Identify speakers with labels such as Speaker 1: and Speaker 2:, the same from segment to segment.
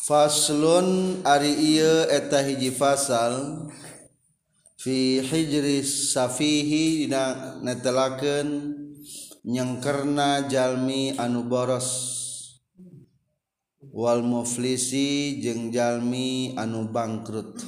Speaker 1: Faslun ari ieu eta hiji fasal fi hijris safihi dina netelakeun nyengkerna jalmi anu boros wal muflisi jeung jalmi anu bangkrut.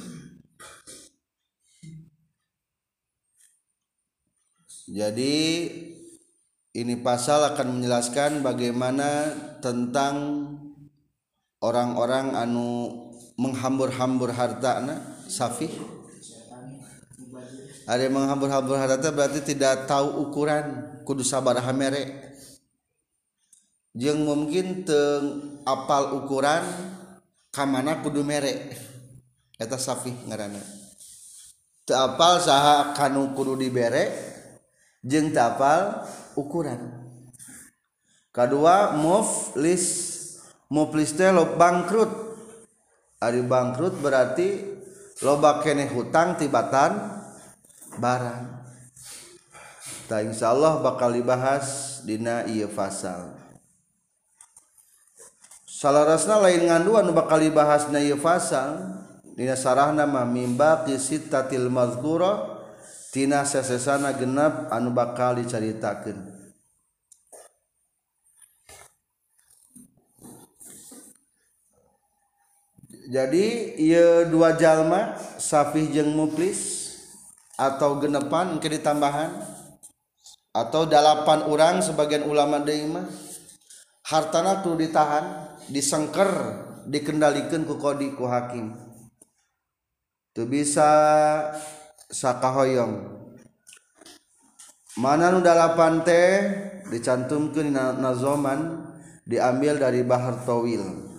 Speaker 1: Jadi ini pasal akan menjelaskan bagaimana tentang orang-orang anu menghambur-hambur hartana safih. Ada yang menghambur-hambur harta berarti tidak tahu ukuran, kudu sabaraha mere. Jeung mungkin teu apal ukuran kamana kudu mere. Eta safih ngaranna. Teu apal saha kanu kudu dibere jeung teu apal ukuran. Kadua muflis teh lo bangkrut. Ari bangkrut berarti loba keneh hutang tibatan barang. Ta insyaallah bakal dibahas dina ieu fasal. Salarasna lain ngandu anu bakal dibahas dina ieu fasal dina sarahna mah mimba qisittatil mazkura tina sesesana genep anu bakal dicaritakeun. Jadi ieu dua jalma safih jeung muflis atau genepan engke ditambahan atau 8 orang sebagian ulama deui mah hartana kudu ditahan, disengker, dikendalikeun ku qadi ku hakim. Teu bisa sakahoyong. Mana nu 8 teh dicantumkeun dina nazoman diambil dari Bahar Tawil.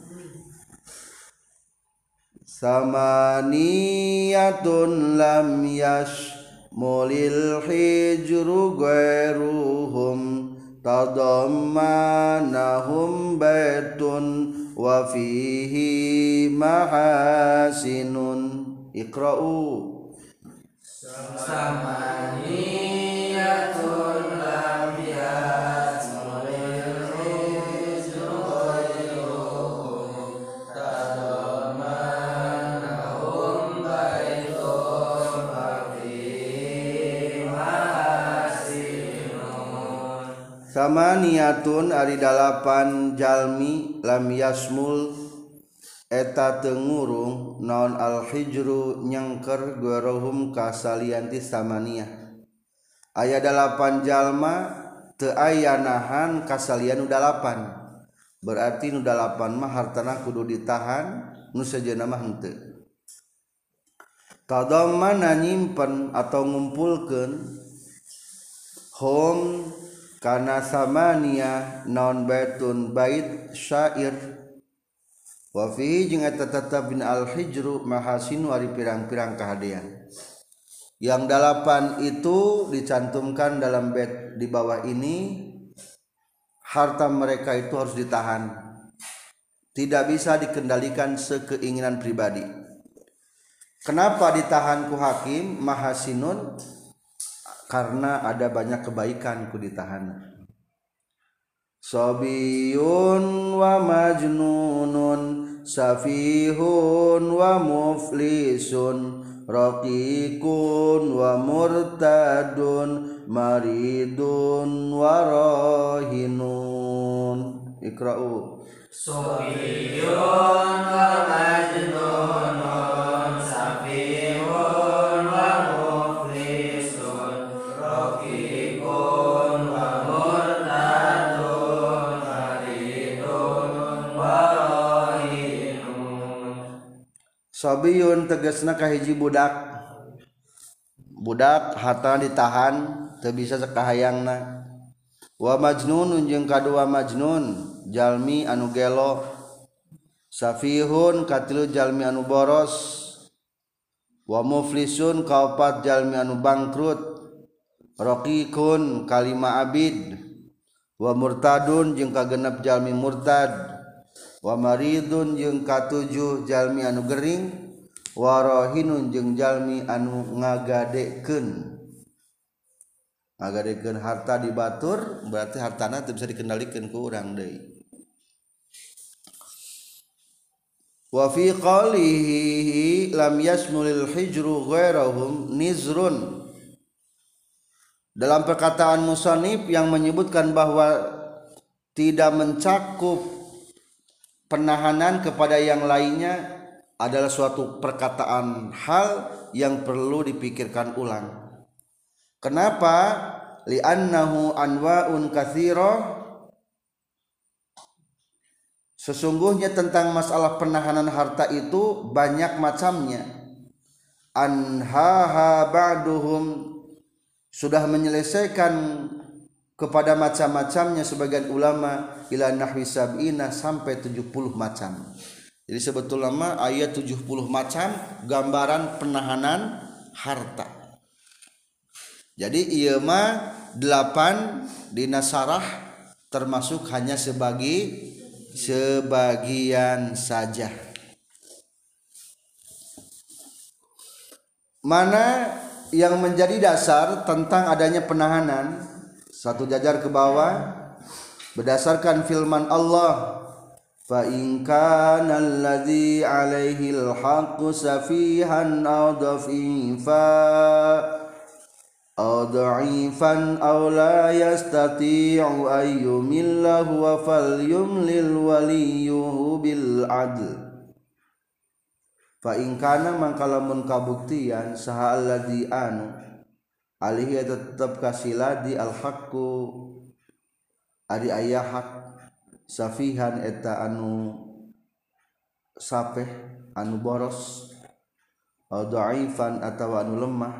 Speaker 1: Samaniyatun lam yashmulil hijru ghairuhum tadammanahum baitun wa fihi mahasinun. Iqra'u.
Speaker 2: Samaniyatun lam yashmulil hijru ghairuhum tadammanahum baitun wa fihi mahasinun.
Speaker 1: Samaniyatun ari 8 jalmi lam yasmul eta teu ngurung naon al hijru nyengker guruhum kasalianti samaniyah. Aya 8 jalma teu aya nahan kasalian nu 8. Berarti nu 8 mah hartana kudu ditahan, nu sejeuna mah henteu. Tadammana nyimpen atau ngumpulkeun hum kana samaniyah naon baitun bait syair. Wa fi jeung eta tetep bin al hijru mahasinu ari pirang-pirang kahadean. Yang 8 itu dicantumkan dalam bait di bawah ini, harta mereka itu harus ditahan. Tidak bisa dikendalikan sekeinginan pribadi. Kenapa ditahan ku hakim mahasinun? Karena ada banyak kebaikan ku ditahan. Sabiyun wa majnunun safihun wa muflisun raqiqun wa murtadun maridun wa rahinun. Iqra'u.
Speaker 2: Sabiyun wa majnunun safihun wa muflisun raqiqun wa murtadun maridun wa rahinun.
Speaker 1: Sabiyun tegasna kahiji budak. Budak hartana ditahan teu bisa sakahayangna. Wa majnunun jeung kadua majnun jalmi anu gelo. Safihun katilu jalmi anu boros. Wa muflisun kaopat jalmi anu bangkrut. Raqiqun kalima abid. Wa murtadun jeung kagenep jalmi murtad. Wa maridun jeung katujuh jalmi anu gering. Wa rahinun jeung jalmi anu ngagadekeun. Ngagadekeun harta dibatur berarti hartana teu bisa dikendalikeun ku urang deui. wa fi qalihi lam yasmulil hijru ghairahum nizrun. Dalam perkataan musannif yang menyebutkan bahwa tidak mencakup penahanan kepada yang lainnya adalah suatu perkataan hal yang perlu dipikirkan ulang. Kenapa? Li'annahu anwa'un katsira. Sesungguhnya tentang masalah penahanan harta itu banyak macamnya. Anhaha ba'duhum, sudah menyelesaikan kepada macam-macamnya sebagian ulama ila nahwi sab'ina sampai 70 macam. Jadi sebetulnya ayat 70 macam gambaran penahanan harta. Jadi ieu mah 8 dina sarah termasuk hanya sebagian saja. Mana yang menjadi dasar tentang adanya penahanan? Satu jajar ke bawah, berdasarkan firman Allah, fa in kana allazi alaihi alhaqqu safihan aw dha'ifan aw la yastati'u ayyumillahu wa falyumlil waliyuhu bil adl. Fa in kana mangkalamun kabuktian saha alladzi anu alihi tetep kasiladi alhaqqu ari aya hak safihan eta anu sapeh anu boros aw dhaifan atawa anu lemah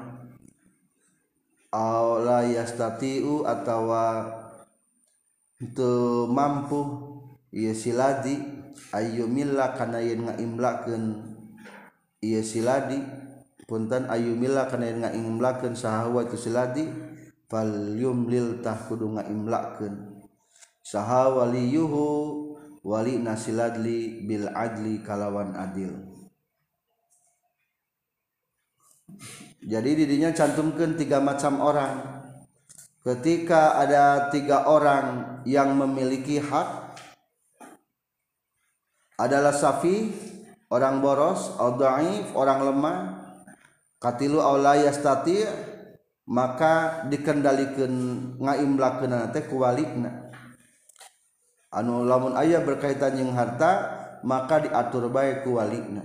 Speaker 1: aw la yastati'u atawa teu mampu ieu siladi ayyumilla kana yen ngaimlakeun ieu siladi punten ayyumilla kana yen ngaimlakeun sahawa itu siladi fal yumlil tah kudu ngaimlakeun saha waliyuhu wali nasiladli bil adli kalawan adil. Jadi didinya cantumkeun 3 macam orang. Ketika ada 3 orang yang memiliki hak, adalah safi, orang boros, au dhaif, orang lemah, katilu au la yastati, maka dikendalikeun ngaimlakeunna teh ku walina. Anu lamun aya berkaitan jeung harta, maka diatur bae ku walina.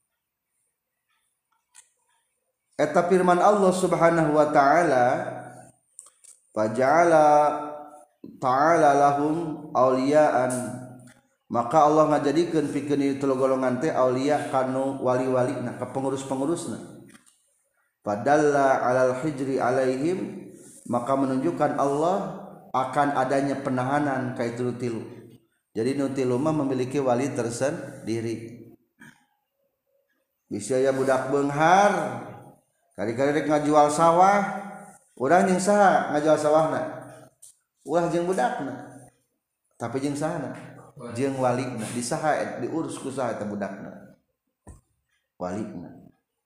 Speaker 1: Eta firman Allah Subhanahu wa taala, faja'ala ta'ala lahum auliyaan, maka Allah ngajadikeun pikeun ieu golongan teh aulia kanu wali-walina ka pengurus-pengurusna. Fadalla 'alal hijri alaihim, maka menunjukkan Allah akan adanya penahanan ka itu tilu. Jadi nu tilu mah memiliki wali tersendiri. Bisa ya budak beunghar kali-kali rek ngajual sawah, urang jeung saha ngajual sawahna? Ulah jeung budakna. Tapi jeung sahana? Jeung walina. Di saha diurus ku saha eta budakna? Walina.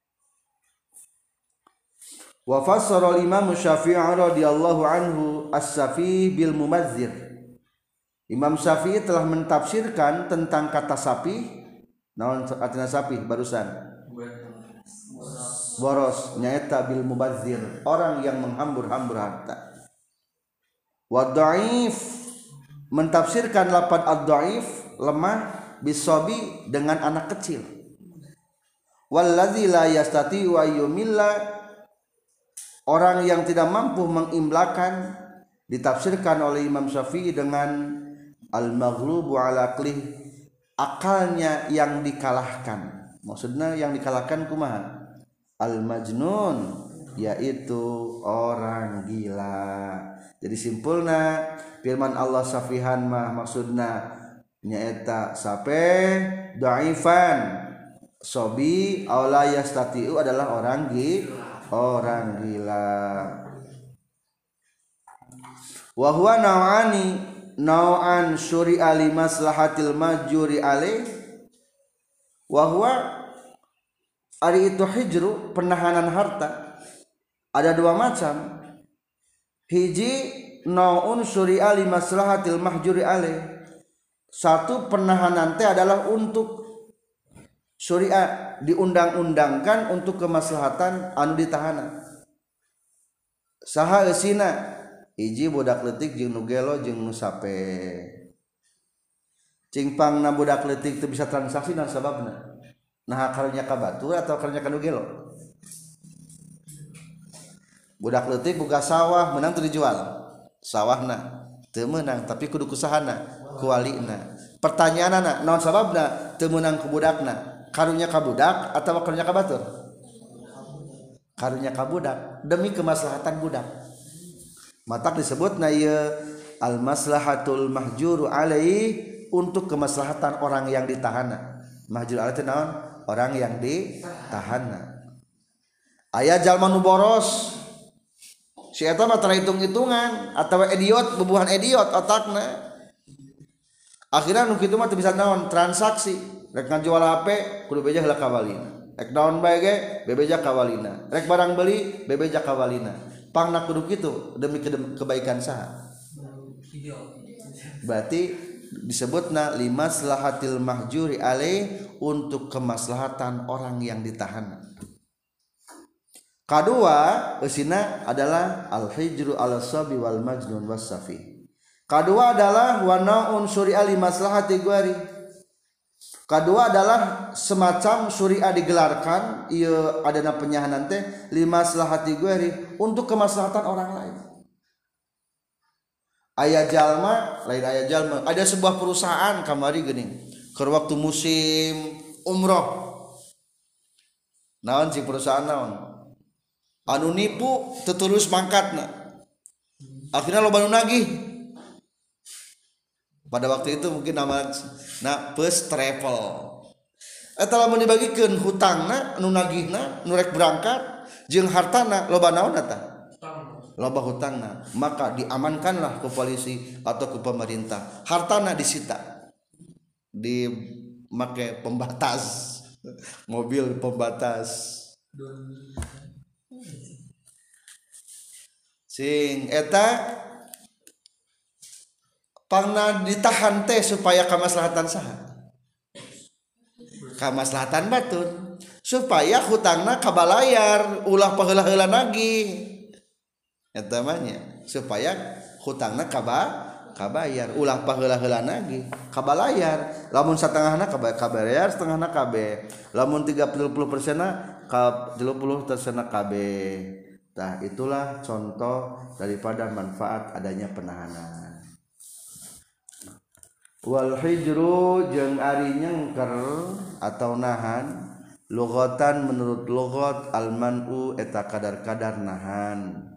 Speaker 1: Wa fassara al-Imam Syafi'i radhiyallahu anhu as-safi bil mumazzir. Imam Syafi'i telah mentafsirkan tentang kata sapi. Naon artina sapi barusan? Boros nyaeta bil mubazzir, orang yang menghambur-hambur harta. Wa dhaif mentafsirkan lafaz ad-dhaif lemah bisabi dengan anak kecil. Wallazi la yastati wa yumilla, orang yang tidak mampu mengimlakan ditafsirkan oleh Imam Syafi'i dengan al-maghlubu ala aqlih, akalnya yang dikalahkan. Maksudnya yang dikalahkan kumaha? Al-majnun, yaitu orang gila. Jadi simpulna firman Allah safihan mah maksudna nyaeta sape, dhaifan, sobi, aula yastatiu adalah orang gila. Wa huwa nau'an syuri'a li maslahatil majuri alaih. Wa huwa ari itu hijru, penahanan harta ada 2 macam. Hiji nau'un syuri'a li maslahatil mahjuri alaih. Satu, penahanan teh adalah untuk syariat diundang-undangkan untuk kemaslahatan anu ditahanan. Saha eusina? Hiji budak leutik jeung nu gelo jeung nu sape. Cingpangna budak leutik teu bisa transaksi naon sababna? Nah karunya ka batur atau karunya ka nu gelo? Budak leutik boga sawah menang teu dijual. Sawahna teu meunang tapi kudu kusahana ku walina. Pertanyaanna naon sababna teu meunang ku budakna? Karunya ka budak atau karunya ka batur? Karunya ka budak demi kemaslahatan budak. Matak disebutna ieu al maslahatul mahjuru alaihi untuk kemaslahatan orang yang ditahana. Mahjur alaihi teh naon? Orang yang ditahana. Aya jalma nu boros. Si eta mah terhitung-hitungan atawa idiot, bubuhan idiot otakna. Akhirnya nu kitu mah teu bisa naon? Transaksi. Rek ngajual HP kudu beja heula kawalina. Rek naon bae ge bebeja kawalina. Rek barang beli bebeja kawalina. Pangna kudu kitu demi kebaikan saha? Berarti disebutna limaslahatil mahjuri alaih untuk kemaslahatan orang yang ditahan. Kedua, eusina adalah al-hijru ala sabi wal majnun was-safi. Kedua adalah wa naun syuri'a limaslahati guari. Kedua adalah semacam syuri'a digelarkan ieu adana penyahanan teh limaslahati guari untuk kemaslahatan orang lain. Aya jalma, lain aya jalma. Ada sebuah perusahaan kamari geuning keur waktu musim umroh. Naon si perusahaan naon? Anu nipu teu tulus mangkatna. Akhirna loba nu nagih. Pada waktu itu mungkin nama first travel. Eta lamun dibagikeun hutangna nu nagihna nu rek berangkat jeung hartana loba naon eta? Loba hutangna, maka diamankanlah ke polisi atau ke pemerintah. Hartana disita. Di make pembatas. Mobil pembatas. Sing eta pangna ditahan teh supaya kamaslahatan saha? Kamaslahatan batur supaya hutangna kabalayar ulah paheula-heula nagih. Eta mah nya supaya hutangna kabayar ulah paheula-heula nagih kabalayar. Lamun satengahna kabayar setengahna kabeh. Lamun 30%-na 30% kabeh. Tah itulah contoh daripada manfaat adanya penahanan. Wal hijru jeung ari nyengker atau nahan lughatan menurut lughat al man'u eta kadar-kadar nahan.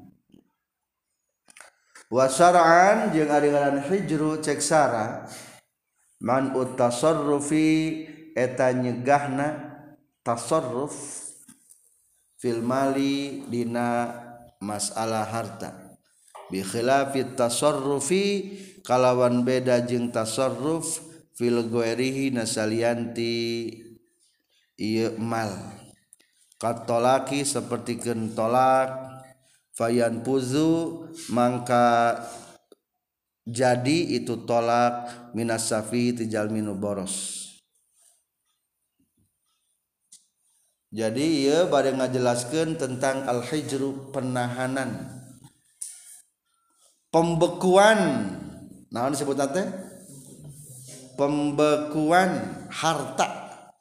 Speaker 1: Wa syar'an jeung ari ngaran hijru cek sara man'u tasarrufi eta nyegahna tasarruf fil mali dina masalah harta bi khilafit tasarrufi kalawan beda jeung tasarruf fil ghairihi nasalianti ieu mal katolaki sapertikeun tolak fayan puzu mangka jadi itu tolak minas safi tijal minu boros. Jadi ieu bade ngajelaskeun tentang al-hijru penahanan pembekuan naon disebutna teh pembekuan harta.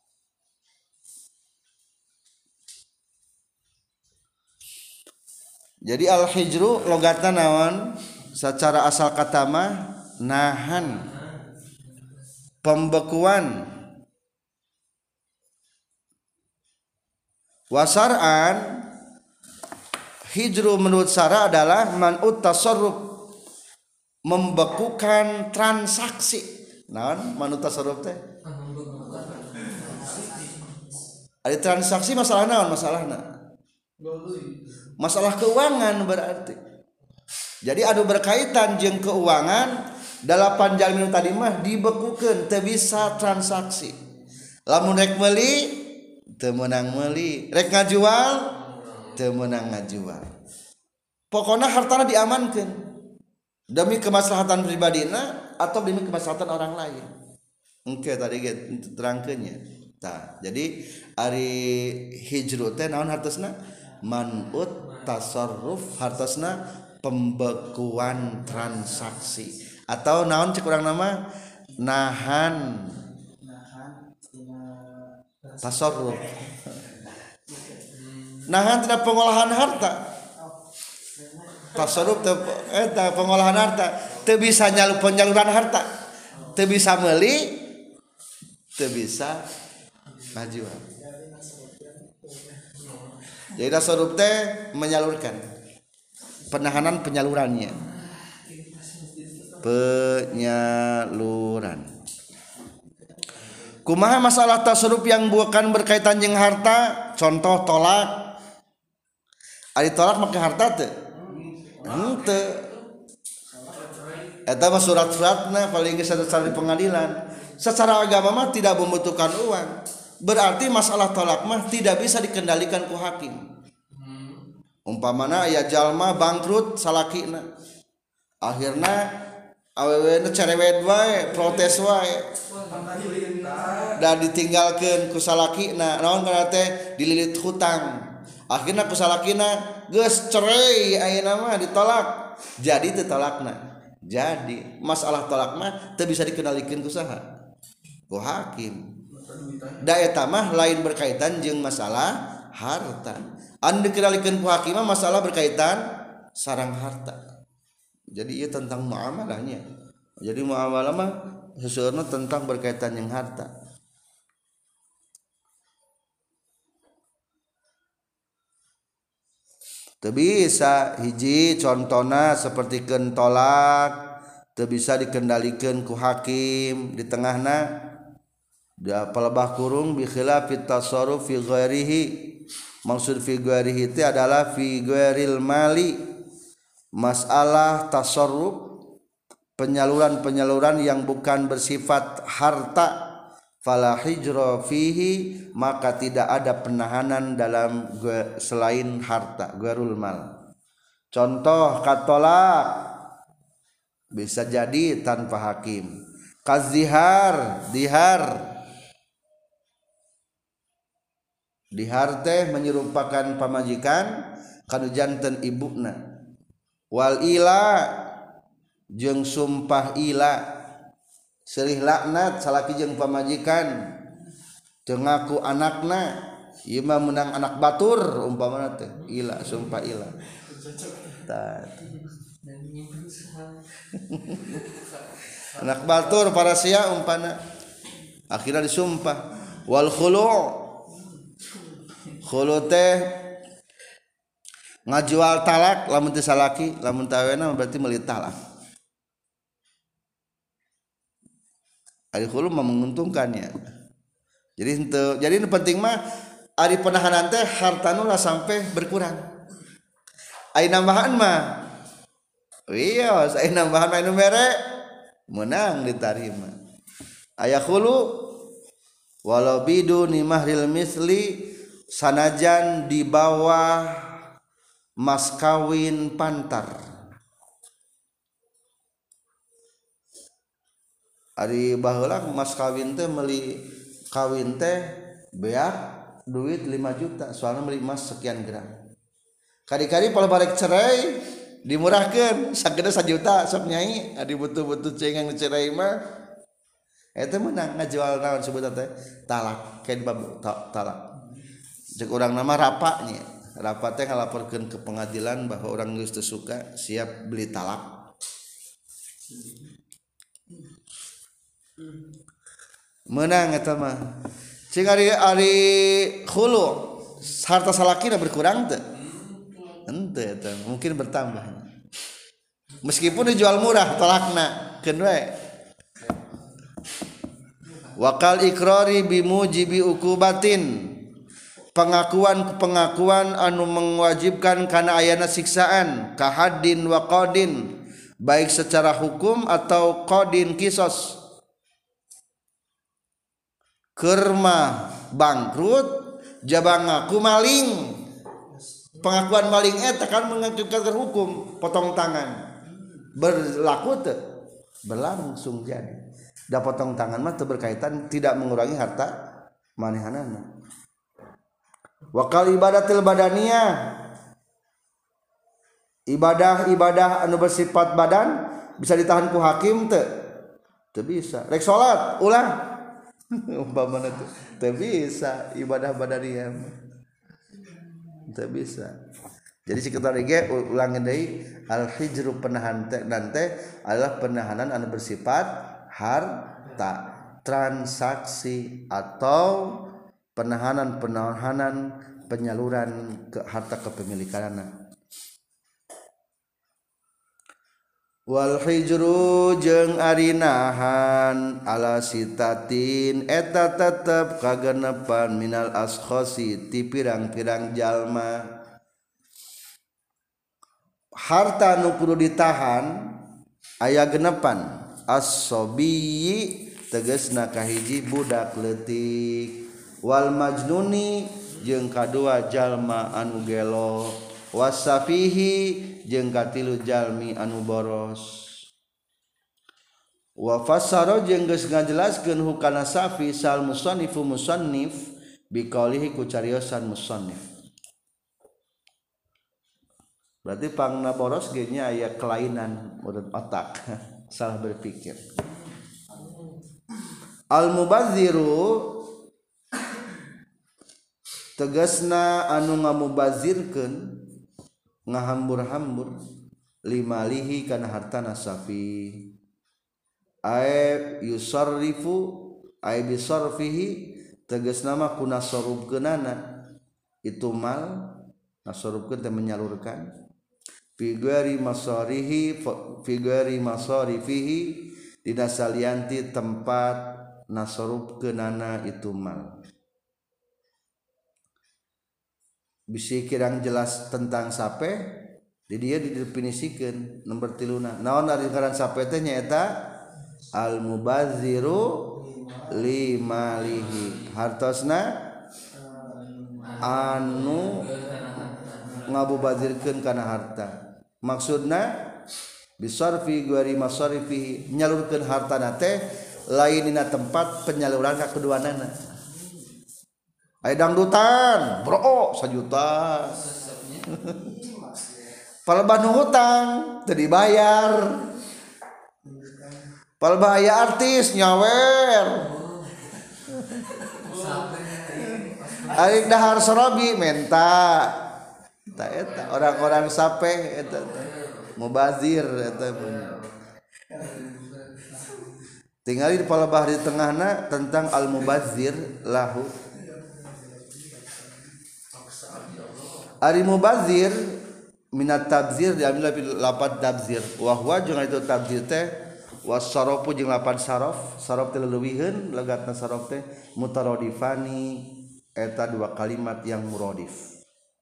Speaker 1: Jadi al-hijru logatna naon secara asal kata mah nahan pembekuan. Wasar'an hijru menurut syara adalah man'ut tasarruf membekukan transaksi. Naon manut tasarruf teh? Ada transaksi masalah naon masalahna? Masalah keuangan berarti. Jadi adu berkaitan jeung keuangan 8 jalmi tadi mah dibekukeun teu bisa transaksi. Lamun rek meuli teu meunang meuli, rek ngajual teu meunang ngajual. Pokona hartana diamankeun demi kemaslahatan pribadina atau demi kemaslahatan orang lain. Engke tadi ge terangkeunnya. Jadi ari hijru teh naon hartosna manut tasarruf hartosna pembekuan transaksi atau naon cek urang nama nahan tasarruf nahan tina pengolahan harta tasarruf eta pengolahan harta teu bisa penyaluran harta teu bisa meuli teu bisa ngajual. Jadi tasarruf teh menyalurkan penahanan penyalurannya kumaha masalah tasarruf yang bukan berkaitan jeung harta contoh tolak ari tolak make harta teu henteu eta mah surat-suratna paling geus di pengadilan secara agama mah tidak membutuhkan uang berarti masalah tolak mah tidak bisa dikendalikan ku hakim umpamana aya jalma bangkrut salakina akhirna awewe na cerewet wae protes wae da ditinggalkeun ku salakina naon kana teh dililit hutang akhirna ku salakina geus cerai ayeuna mah ditolak jadi teu tolakna jadi masalah tolak mah teu bisa dikendalikeun ku saha ku hakim da eta mah lain berkaitan jeung masalah harta anu dikendalikeun ku hakim mah masalah berkaitan sareng harta jadi ieu tentang muamalahnya jadi muamalah mah seueurna tentang berkaitan jeung harta teu bisa hiji contona sapertikeun tolak teu bisa dikendalikeun ku hakim di tengahna da palebah kurung bi khilafit tasarruf fi ghairihi maksud fi ghairihi itu adalah fi ghairil mali masalah tasarruf penyaluran yang bukan bersifat harta fala hijra fihi maka tidak ada penahanan dalam selain harta ghairul mal contoh katolak bisa jadi tanpa hakim kazihar dihar teh menyerupakan pamajikan kanu janten ibuna wal ila jeung sumpah ila serih laknat salaki jeung pamajikan teu ngaku anakna ieu mah meunang anak batur umpamana teh ila sumpah ila anak batur para sia umpana akhirnya disumpah wal khulu' teh ngajual talak lamun teu salaki lamun tawena berarti meuli talak ari khulu mah menguntungkannya jadi nu penting mah ari penahanan teh hartana lah sampai berkurang ai nambahan mah iya ai nambahan mah nu mere menang ditarima aya khulu walau biduni mahril misli sanajan di bawah mas kawin pantar ari baheula mas kawin teh meuli kawin teh beak duit 5 juta soalnya meuli emas sekian gram kadi-kadi pala barek cerai dimurahkeun sagede 1 juta sok nyai adi butuh-butuh cengang cerai mah eta meunang ngajual naon sebutan teh talak kain bab talak cek urang nama rapanya rapat teh ngalaporkeun ke pengadilan bahwa orang geus teu suka siap beli talak menang eta mah cing ari khulu harta salakina berkurang teu henteu eta mungkin bertambah meskipun dijual murah talakna keun we wakal ikrari bimujibi ukubatin pengakuan anu mewajibkan kana ayana siksaan kahaddin wa qadin baik secara hukum atau qadin kisos kerma bangkrut jabang ngaku maling pengakuan maling eta kan mengajukan hukum potong tangan berlaku teu berlangsung jadi da potong tangan mah teu berkaitan tidak mengurangi harta manehanana. Wa qal ibadatil badaniyah ibadah anu bersifat badan bisa ditahan ku hakim teu bisa. Rek salat ulah umpamana teu bisa ibadah badaniyah teu bisa. Jadi sekitar ge ulangi deui al hijru penahan dan adalah penahanan anu bersifat harta, transaksi atau penahanan penyaluran ke harta kepemilikanana. Wal hijru jeung ari nahan ala sitatin eta tetep kagenepan minal askhasi ti pirang-pirang jalma. Harta nu kudu ditahan aya genepan as-sabiyyi tegasna kahiji budak leutik wal majnuni jeung kadua jalma anu gelo wasafihi jeung katilu jalmi anu boros wa fassara jeung geus ngajelaskeun hukana safi sal musannifu musannif biqaulihi ku cariosan musannif. Berarti pangna boros ge nya aya kelainan urut otak salah berpikir. Al mubadziru tegasna anu ngamubazirkeun ngahambur-hambur limalihi kana hartana safi ay yusarrifu ay bisarfihi tegasna mah kuna sarubkeunana itu mal nasorubkeun teh menyalurkan figari masarifihi dina salianti tempat nasorubkeunana itu mal. Bisi kirang jelas tentang sape di dia didefinisikeun nomor 3 naon ari ngaran sape teh nyaeta al mubadziru limalihi hartosna anu ngabubadzirkeun kana harta. Maksudna bisarfi guari masarifihi nyalurkeun hartana teh lain dina tempat penyaluran ka keduanana. Aya dangdutan, bro, 1 juta. Palebah nu hutang teu dibayar. Palebah aya artis nyawer. Ari dahar sorobi menta. Eta orang-orang sape eta mubazir eta tinggal di palebah di tengahna tentang al mubazir lahu ari mubazir minat tabzir diambil dari lapan tabzir wa huwa jeung itu tabzir teh wasarafu jeung lapan saraf teh leuwihkeun legatna saraf teh mutaradifani eta dua kalimat yang muradif.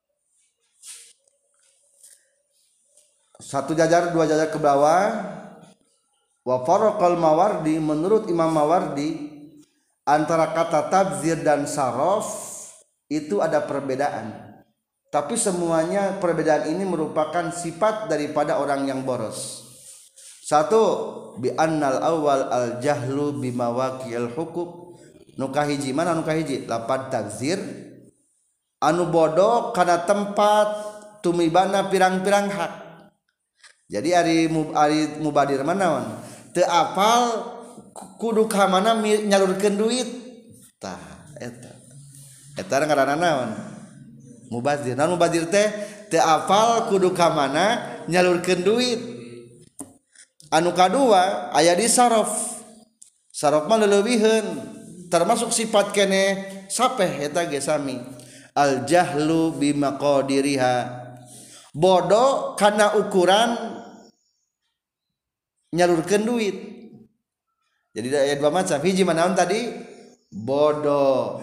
Speaker 1: Satu jajar dua jajar ke bawah. Wa faraqal Mawardi menurut Imam Mawardi antara kata tabzir dan saraf itu ada perbedaan. Tapi semuanya perbedaan ini merupakan sifat daripada orang yang boros. Satu bi annal awal al jahlu bi mawaqi'il huquq. Nu kahiji mana nu kahiji lapan tabzir anu bodoh kana tempat tumibana pirang-pirang hak. Jadi ari mubadir manaon teu apal kudu ka mana nyalurkeun duit tah eta ngaranna naon mubazir. Naon mubazir teh teu apal kudu ka mana nyalurkeun duit. Anu kadua aya di saraf mah leuwihkeun termasuk sifat kene sapeh eta ge sami al jahlu bi maqadiriha bodoh karena ukuran nyalurkeun duit. Jadi ada dua macam. Hiji manaon tadi bodoh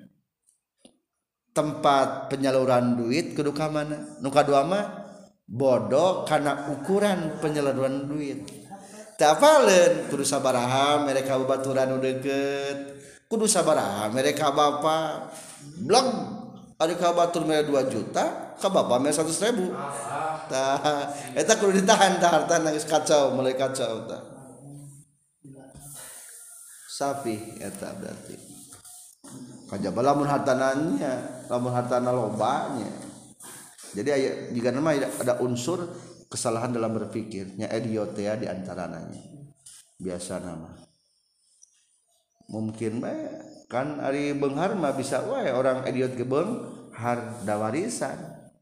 Speaker 1: tempat penyaluran duit kudu ka mana. Nu kadua mah bodoh karena ukuran penyaluran duit. Teu apaleun kudu sabaraha mere ka babaturan nu deukeut. Kudu sabaraha mere ka bapa. Blog ari ka batur mere 2 juta, ka bapa mere 100.000. Tah eta kudu ditahan tah hartana geus kacau, mulai kacau tah. Safi eta berarti. kajaba lamun hartana lobanya. Jadi aya jika nama ada unsur kesalahan dalam berpikirnya idiot ya di antaranya. Biasa nama. Mungkin bae kan ari beunghar mah bisa wae orang idiot ge beunghar da warisan.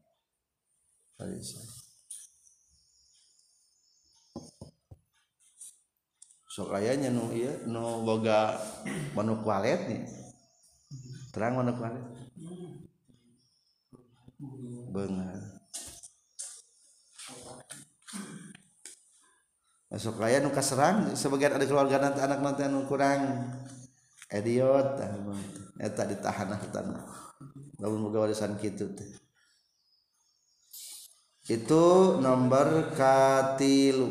Speaker 1: Sok ayanya nu ieu nu boga manuk walet nih. Terang manuk walet. Beunghar. Masuk aya nu kaserang sebagian ada keluarga nanti anak nanti anu kurang idiot eta ditahan hartana. Lamun boga warisan kitu teh. Itu nomor katilu.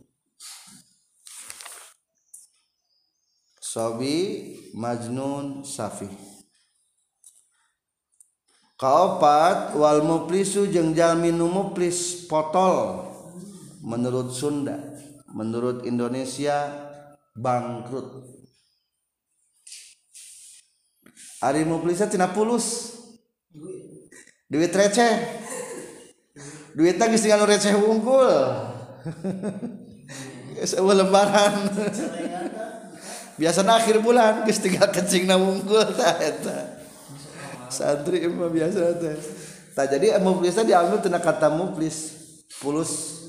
Speaker 1: Sobi, majnun, safih. Kaopat wal muflisu jeung jalmi nu muflis potol menurut Sunda, menurut Indonesia bangkrut. Ari muflisnya tina pulus. Duit receh. Duitnya geus tinggal receh wungkul. Geus eueuh lembaran. Biasana akhir bulan geus tinggal kecingna wungkul tah eta. Santri mah biasa teh. Tah jadi muflisnya diambil tina kata muflis, pulus.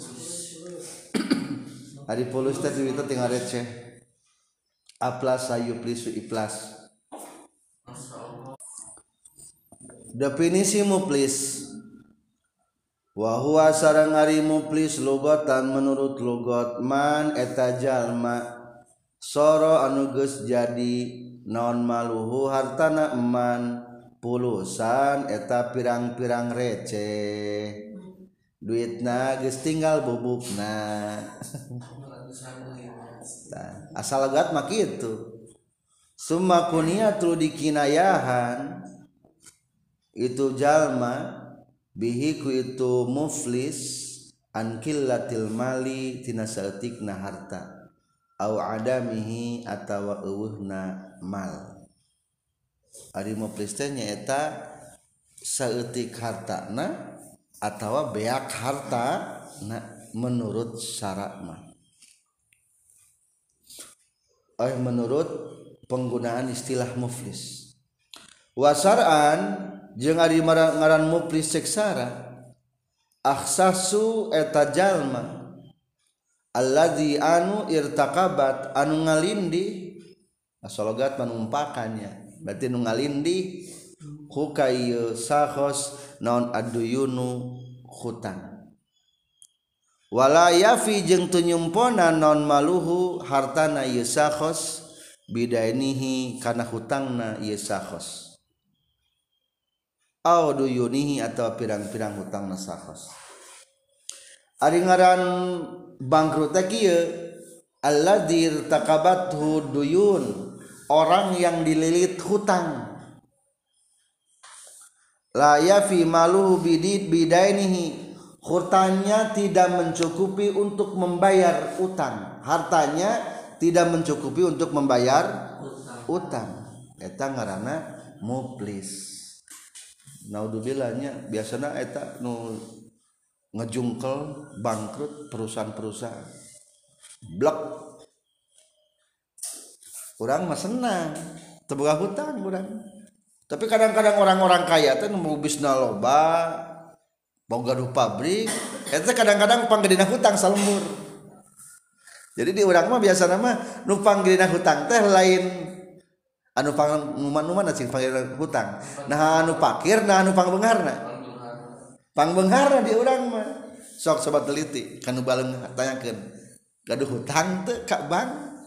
Speaker 1: Ari pulus teh duitnya tinggal receh. Aplas sayuplisu iplas. Definisi muflis. Wa huwa sareng ari muflis lugatan menurut lugat man eta jalma soro anu geus jadi naon maluhu hartana eman pulusan eta pirang-pirang receh duitna geus tinggal bubukna. Asal logat mah kitu. Summa kuniyatul dikinayahan itu jalma bihi ku itu muflis an qillatil mali tina saeutikna harta au adamihi atawa eueuhna mal. Ari muflis teh nyaeta saeutik hartana atawa beak hartana menurut syarat mah. Menurut penggunaan istilah muflis. Wasar'an jeung ari ngaran muflis seksara akhsasu eta jalma alladzi anu irtaqabat anu ngalindi asalogat manumpakannya berarti nu ngalindi hukaieu sakhos naon aduyunu hutang wala yafi jeung teu nyumpona naon maluhu hartana ieu sakhos bidainihi kana hutangna ieu sakhos au duyunihi atau pirang-pirang hutang nasakhos. Ari ngaran bangkrut teh kieu alladzi irtaqabathu duyun orang yang dililit hutang. La yafi maluhu bidainihi hutangnya tidak mencukupi untuk membayar utang. Hartanya tidak mencukupi untuk membayar utang. Eta ngaranna muflis. Naudzubillah biasana eta nu ngejungkel bangkrut perusahaan-perusahaan blok urang mah senang teu boga hutang urang tapi kadang-kadang orang-orang kaya teh nu bisna loba boga du pabrik eta kadang-kadang panggedina hutang salembur jadi di urang mah biasana mah nu panggedina hutang teh lain anu pangnuman-numan cing panggil hutang nah anu pakir nah anu pangbeungharna di urang mah sok sobat teliti kanu baleung tanyakeun gaduh hutang teu ka bank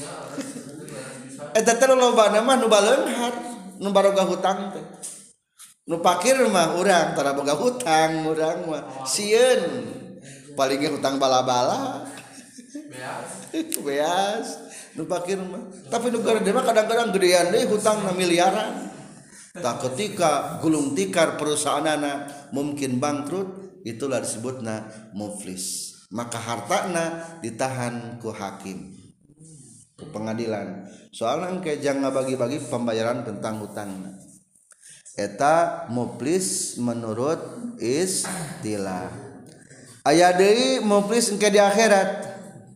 Speaker 1: eta teh lobana mah nu baleunghar nu baroga hutang teh nu pakir mah urang tara boga hutang urang mah sieun palingnya hutang bala-bala beas nu pakir mah tapi nu gede mah kadang-kadang gedean deui hutangna miliaran tah ketika gulung tikar perusahaanna mungkin bangkrut itulah disebutna muflis maka hartana ditahan ku hakim pengadilan soalnya kejang ngabagi-bagi pembayaran tentang hutang eta muflis menurut istilah aya deui muflis engke di akhirat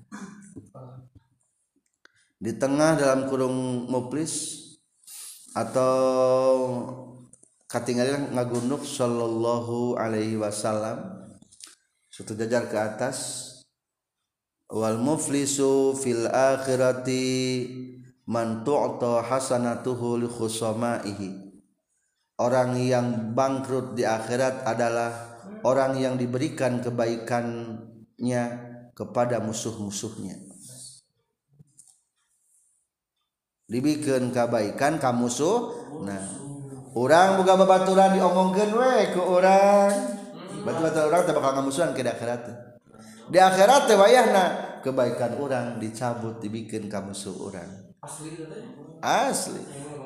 Speaker 1: di tengah dalam kurung muflis atau katinggalan ngagunduk sallallahu alaihi wasallam satu jajar ke atas wal muflisu fil akhirati man tu'ta hasanatuhu li khusamaihi. Orang yang bangkrut di akhirat adalah orang yang diberikan kebaikannya kepada musuh-musuhnya. Dibikeun kebaikan ka musuh. Nah, urang boga babaturan diomongkeun we ku urang. Batu-batu urang teh bakal ngamusuhan ke akhirat. Di akhirat teh wayahna kebaikan urang dicabut dibikeun ka musuh urang. Asli.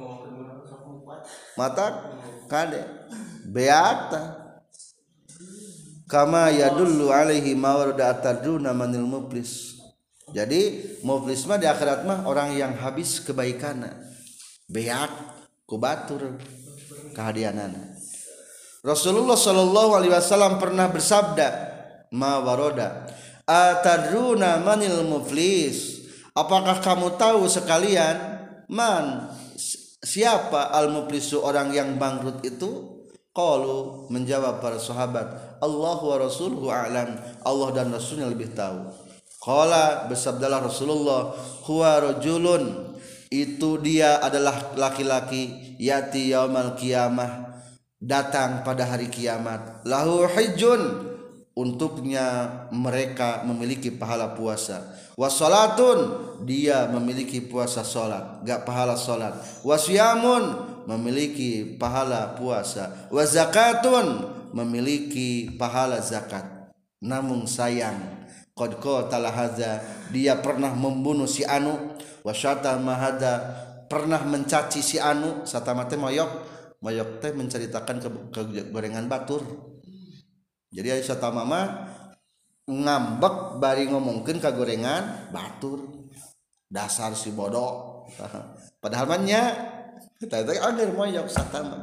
Speaker 1: Mata kade beata kama yadullu alaihi ma warada ataduna manil muflis. Jadi muflis mah di akhirat mah orang yang habis kebaikanna beak ku batur kahadianana. Rasulullah sallallahu alaihi wasallam pernah bersabda ma warada ataduna manil muflis. Apakah kamu tahu sekalian man siapa al-muflisu orang yang bangkrut itu? Qalu menjawab para sahabat Allahu wa rasuluhu a'lam, Allah dan Rasulnya lebih tahu. Qala bersabdalah Rasulullah huwa rajulun itu dia adalah laki-laki yati yaumal qiyamah datang pada hari kiamat lahu hijjun untuknya mereka memiliki pahala puasa wasolatun dia memiliki puasa solat gak pahala solat wasyamun memiliki pahala puasa wazakatun memiliki pahala zakat namun sayang qad qatala hadza dia pernah membunuh si anu wasyatama hadza pernah mencaci si anu satama teh moyok teh menceritakan kegorengan batur. Jadi aya satama mah ngambek bari ngomongkeun kagorengan batur dasar si bodoh padahal mah nya eta teh anger moyok satama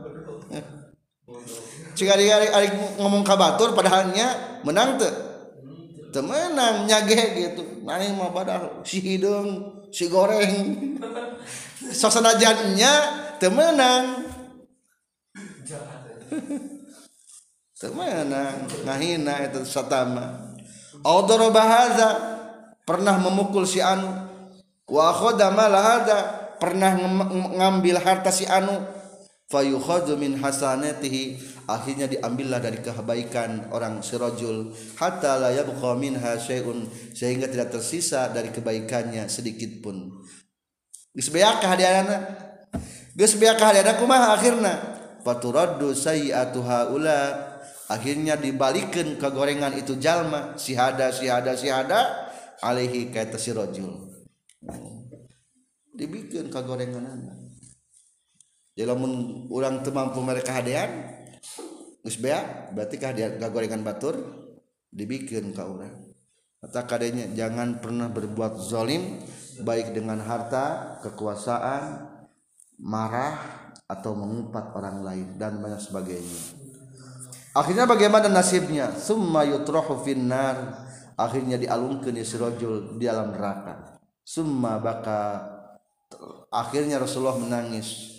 Speaker 1: cik ari ngomong ka batur padahal nya menang teu menang nyage gitu maning mah padahal si hidung si goreng sok sanajan nya teu menang teu menang ngahina eta satama audara bahaza pernah memukul si anu wa akhadha malahada pernah ngambil harta si anu fayukhadhu min hasanatihi akhirnya diambillah dari kebaikan orang sirajul hatta la yabqa minha syai'un sehingga tidak tersisa dari kebaikannya sedikit pun geus beak kahadiana kumaha akhirna faturaddu sayyi'atu haula akhirnya dibalikeun kagorengan itu jalma sihada alaihi ka eta sirajul dibikeun kagorenganana. Jadi lamun urang teu mampu mere kahadean geus bea berarti kahadean kagorengan batur dibikeun ka urang. Eta kadenya jangan pernah berbuat zalim baik dengan harta, kekuasaan, marah atau mengumpat orang lain dan banyak sebagainya. Akhirnya bagaimana nasibnya? Summa yutrahu finnar. Akhirnya dialungkeun si rajul di dalam neraka. Summa baka akhirnya Rasulullah menangis.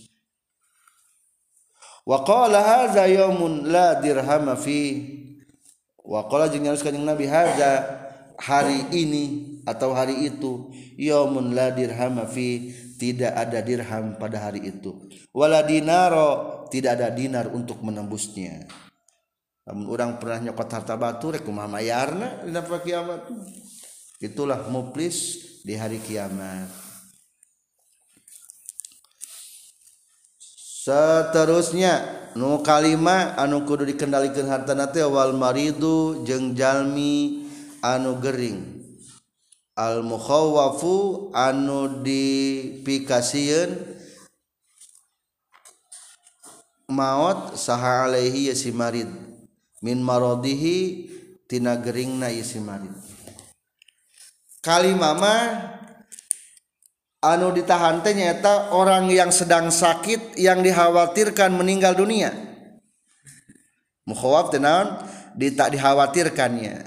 Speaker 1: Wa qala hadza yaumun la dirham fi. Wa qala jeung nyaris kanjing Nabi hadza hari ini atau hari itu yaumun la dirham fi tidak ada dirham pada hari itu. Wala dinaro tidak ada dinar untuk menembusnya. Namun orang pernah nyokot harta batu rek kumaha mayarna dina kiamat. Itulah muflis di hari kiamat. Seterusnya nu kalima anu kudu dikendalikeun hartana teh wal maridu jeung jalmi anu gering. Al mukhawwafu anu dipikasieun maut saha alaihi si marid min maradihi tina geringna si marid. Kalimah mah anu ditahan teh nyaeta orang yang sedang sakit yang dikhawatirkan meninggal dunia. Mukhawaf teh naon? Tak dikhawatirkannya.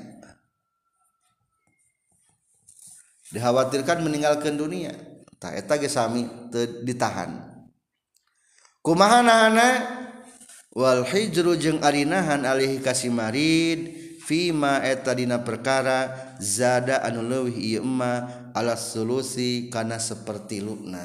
Speaker 1: Dikhawatirkan meninggalkan dunia. Tah eta ge sami teu ditahan. Kumaha nahana? Wal hijru jeung ari nahan alaihi kasimarid fima eta dina perkara zada anu leuwih ieu emma ala sulusi kana sapertiluna.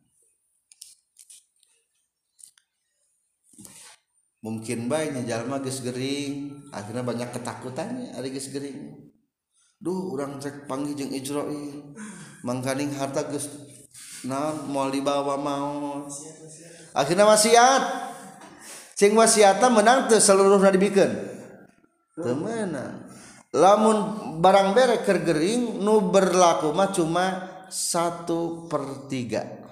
Speaker 1: Mungkin bae nya jalma geus gering akhirna banyak ketakutannya ari geus gering. Duh urang rek panggih jeung Ijroil mangkaning harta geus naon moal dibawa maot. Akhirna wasiat. Cing wasiatna menang teu seluruhna dibikeun. Teu meunang. Lamun barang bere keur gering nu berlaku mah cuma 1/3.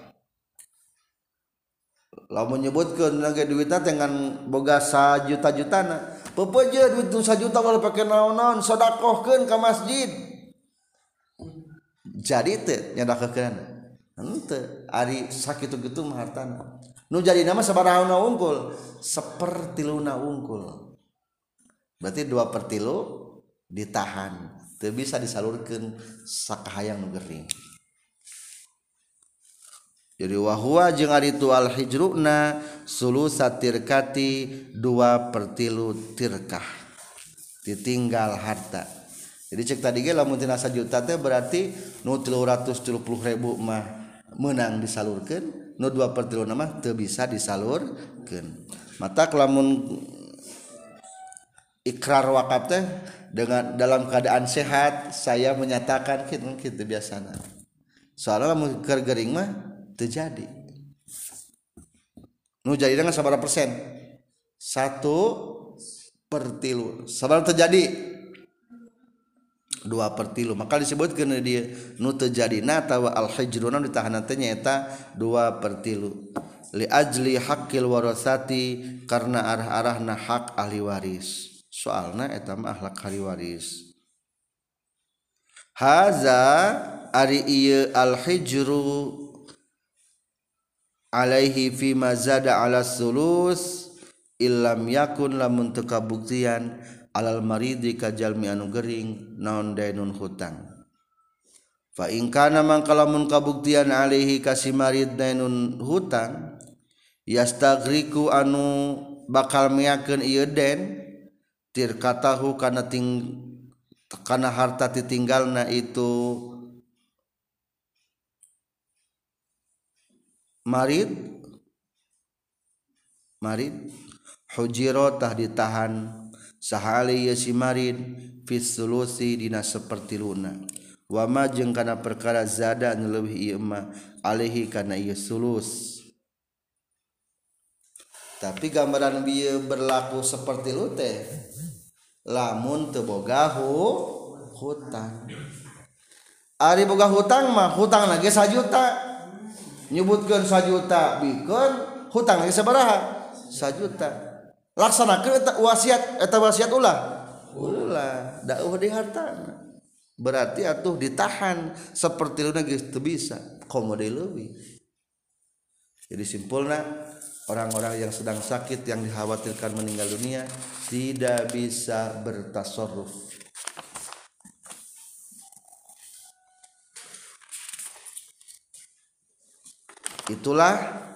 Speaker 1: Lamun nyebutkeun lagi duitna dengan boga sajuta-jutana, pepeje duit nu sajuta kalau pake naon-naon sedekahkeun ka masjid. Jadi teu nyedekahkeun. Henteu, ari sakitu kitu mah hartana. Nu jadi nama sabaraha unggul 1/3 unggul. Berarti 2/3 ditahan, teu bisa disalurkeun sakahayang nu gering. Jadi wahwa jeung ari tu al hijruna sulusat tirkati 2/3 tirkah ditinggal harta. Jadi cek tadi ge lamun tina 1 juta teh berarti nu 370.000 mah menang disalurkeun, nu 2/3 mah teu bisa disalurkeun. Mata lamun ikrar wakaf teh dengan dalam keadaan sehat saya menyatakan kitu biasana. Soalnya lamun keur gering mah terjadi. Nu jadi dengan sabaraha persen? 1/3. Sabaraha terjadi? 2/3. Maka disebutkeun dia nu terjadi tawa al hijruna ditahan teh nyaeta 2/3. Li ajli haqqil warasati karena arah-arahna hak ahli waris. Soalna eta mah akhlak ahli waris. Haza ari ieu al hijru alaihi fi mazada ala sulus illam yakun lamun teu kabuktian alal maridi ka jalmi anu gering naon dainun hutang. Fa in kana mangka lamun kabuktian alaihi ka si marid dainun hutang yastagriku anu bakal meakeun ieu den tirkatahu kana harta titinggalna itu marid hujiro tah ditahan sahali si marid fis sulusi dina 1/3 wa ma jeung kana perkara zada anu leuwih ieu mah alaihi kana ieu sulus. Tapi gambaran bieu berlaku 1/3 teh lamun teu boga hutang. Ari boga hutang mah hutang lagi 1 juta. Nyebutkeun 1 juta bikeun hutang lagi sabaraha? 1 juta. Laksanakeun eta wasiat ulah dauh di hartana. Berarti atuh ditahan 1/3 geus teu bisa komode leuwih. Jadi simpulna orang-orang yang sedang sakit yang dikhawatirkan meninggal dunia tidak bisa bertasarruf. Itulah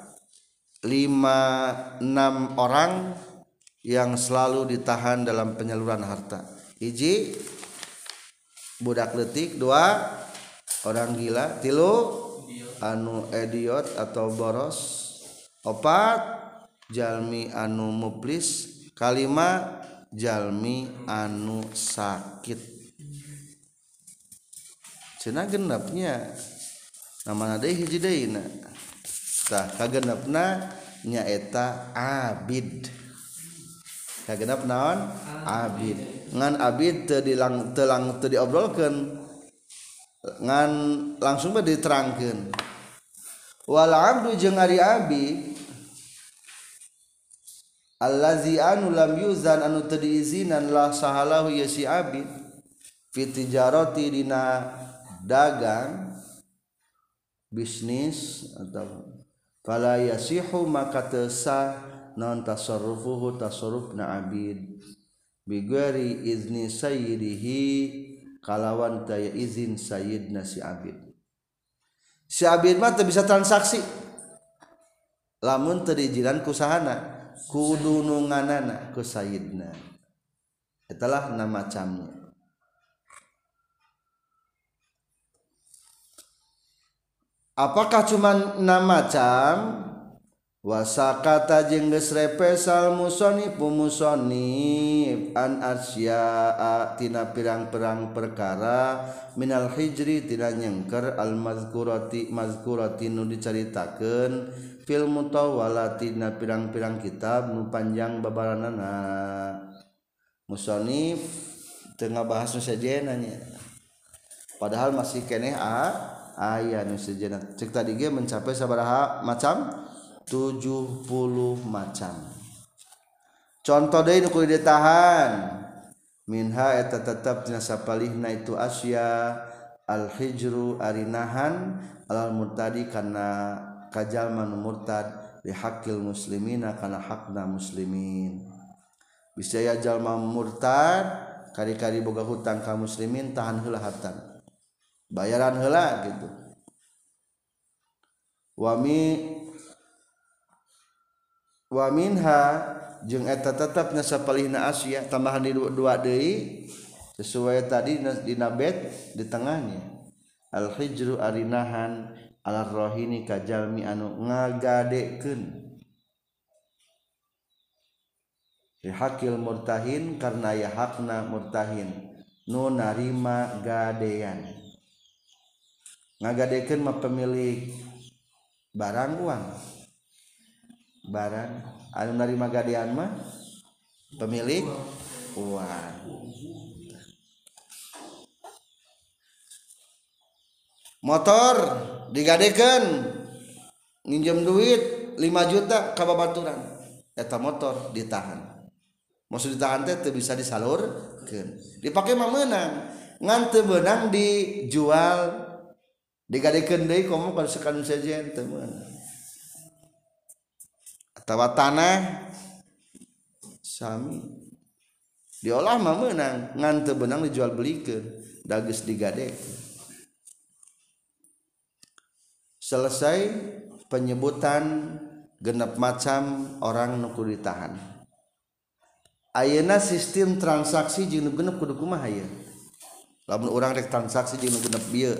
Speaker 1: 5-6 orang yang selalu ditahan dalam penyaluran harta. 1 budak leutik, 2 orang gila, 3 anu idiot atau boros, 4 jalmi anu muflis, 5 jalmi anu sakit. Cenah genepnya namana deui hiji deuna. Tah kagenepna nyaeta abid. Kagenep naon? Abid. Ngan abid teu diobrolkeun. Ngan langsung bae diterangkeun. Wal abdu jeung ari abid allazi anu lam yuzan anu teu diizinan la sahalahu ya si abid fi tijarati dina dagang bisnis atau fala yasihu maka teu sah non tasarrufuhu tasarrufna abid bi ghairi izni sayyidihi kalawan taya izin sayyidna si abid mah teu bisa transaksi lamun teu diizinan ku sahana kudu nu nganana ku sayyidna etalah nama macamnya. Apakah cuma 6 macam? Wasakata jeung geus repesal musonif an asya'a tina pirang-pirang perkara minal hijri tina nyengker al mazkurati nu dicaritakeun fil mutawwalati tina pirang-pirang kitab nu panjang babaranana. Musonif teu ngabahas nu sejenna nya. Padahal masih keneh aya nu sejenna. Cek tadi ge mencapai sabaraha macam? 70 macam. Contoh deui nu kudu ditahan. Minha eta tetep tina sapalihna itu asya al hijru arinahan alal murtadi kana kajalma nu murtad li haqqil muslimina kana hakna muslimin. Bisa ya jalma murtad kari-kari boga hutang ka muslimin tahan heula hartan. Bayaran heula gitu. Wa minha jeung eta tetepna sapalihna asya tambahan di dua deui sesuai tadi dina bet di tengahnya al hijru arinahan ala rohini kajalmi anu ngagadekeun li hakil murtahin karna ya hakna murtahin nu narima gadean ngagadekeun mah pemilik barang uang barang anu narima gadean mah pemilik uang. Motor digadekeun nginjem duit 5 juta ka babaturan eta motor ditahan. Maksud ditahan teh teu bisa disalurkeun. Dipake mah meunang, ngan teu beunang dijual digadekeun deui komo ka sekanu sejen teu meunang. Atawa tanah sami diolah mah meunang ngan teu beunang dijual belikeun da geus digadekeun. Selesai penyebutan genep macam orang nu kudu ditahan. Ayeuna sistem transaksi jeung nu genep kudu kumaha aya? Lamun urang rek transaksi jeung nu genep bieu.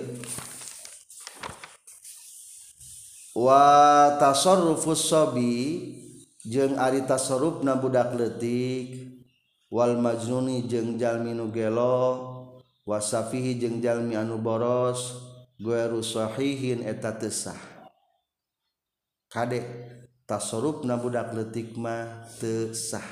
Speaker 1: Wa tasarrufus sabi jeung ari tasarrufna budak leutik wal majnuni jeung jalmi nu gelo wasafihi jeung jalmi anu boros ghairu sahihin eta teu sah. Kade tasarrufna budak leutik mah teu sah.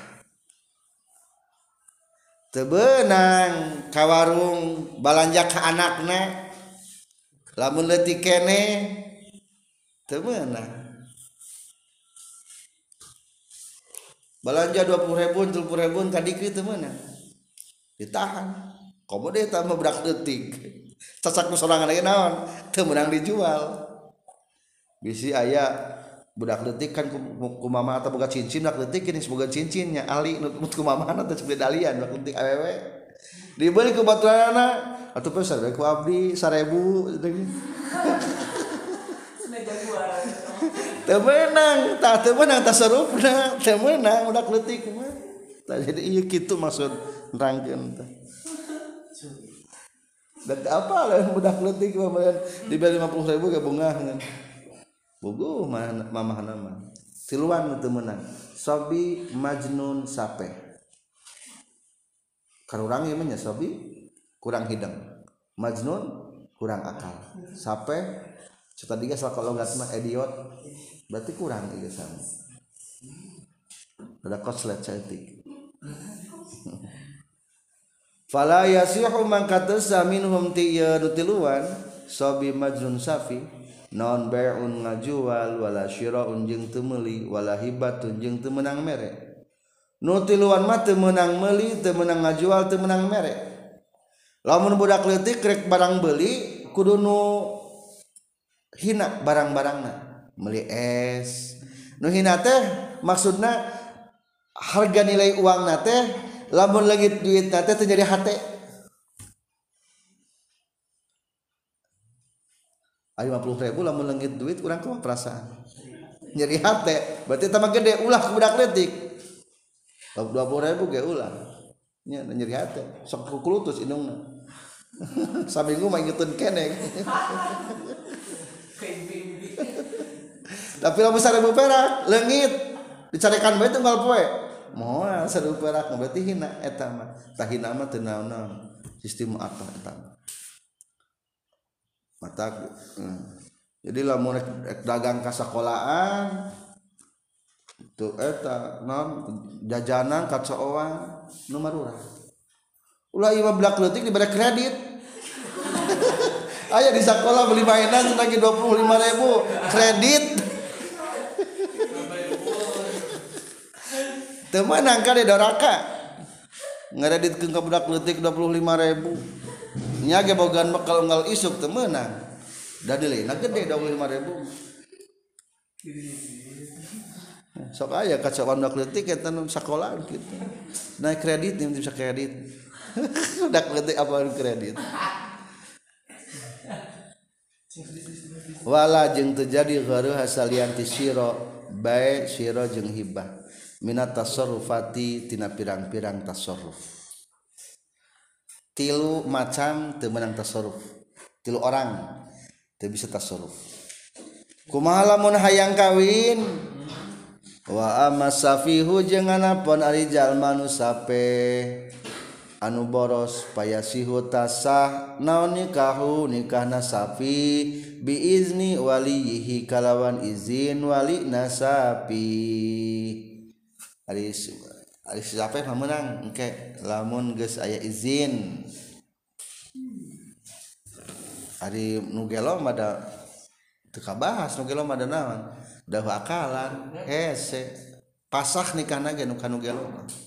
Speaker 1: Teu beunang ka warung balanja ka anakna lamun leutik keneh teu meunang. Balanja 20.000 30.000 ka dikri teu meunang. Ditahan. Komo deui eta mah budak leutik. Cacak nu sorangan lagi naon? Teu meunang dijual. Bisi aya budak leutik kan ku mama atau boga cincin budak leutik geus boga cincinnya ali nu ku mamana teh seperti dalian budak leutik awewe. Dibeli ku baturanna atuh pesan ku abdi 1.000 teu meunang tasarrufna teu meunang budak leutik mah. Tah jadi ieu kitu maksud nerangkeun teh. Dan apa lah budak leutik mah dibeli 50.000 ge bungah ngan. Bogoh mamahna mah. Tiluan teu meunang. Sobi majnun sape. Karurang ieu mah nya sobi kurang hidang. Majnun kurang akal. Sape tadi geus logat mah idiot. Berarti kurang ieu sama. Ada koslet cetik. Fala yasihu man katasa minhum tiluan sabi majnun safi non bai'un ngajual wala syira'un jeung teu meuli wala hibatun jeung teu meunang mere. Nu tiluan mah teu meunang meuli, teu meunang ngajual, teu meunang mere. Lamun budak leutik rek barang beuli kudu nu hina barang-barangna meuli es nu hina teh maksudna harga nilai uangna teh lamun lagi duitna teh jadi hate aya 50.000 lamun leungit duit urang kumaha perasaan nyeri hate berarti tambah gede ulah ke budak leutik 20.000 ge ulah nya nyeri hate sok kulutus indungna saminggu mah ngitun keneh tapi lamun 1.000 perak leungit dicarekan bae tunggal poe moal 1.000 perak berarti hina eta mah tah hina mah teu naon-naon sistem apa eta mata jadi lamun rek dagang ka sakolahan tuh eta naon jajanan kacooan nu marurah ulah ieu blak leutik dibere kredit aya di sakola beli mainan lagi 25.000 kredit teu meunang ka di doraka ngareditkeun ka budak leutik 25.000 nya ge bogaan bekal unggal isuk teu meunang da nilainya gede 25.000 sok aya kacauan budak leutik eta nu sakola kitu naik kredit nih bisa kredit budak leutik apa kredit wala jeung teu jadi gharuh hasalian ti sira bae sira jeung hibah minat tasarrufati tina pirang-pirang tasarruf tilu macam teu meunang tasarruf tilu orang teu bisa tasarruf kumaha lamun hayang kawin wa amasafihu jeung anapun ari jalma nu sape anu boros payasihu tasah naon nikahna safi biizni walihi kalawan izin wali nasapi ari sape mah meunang engke lamun geus aya izin ari nu gelo mah da teu kabahas nu gelo mah da naon da akalan hese pasah nikahna ge nu kanu gelo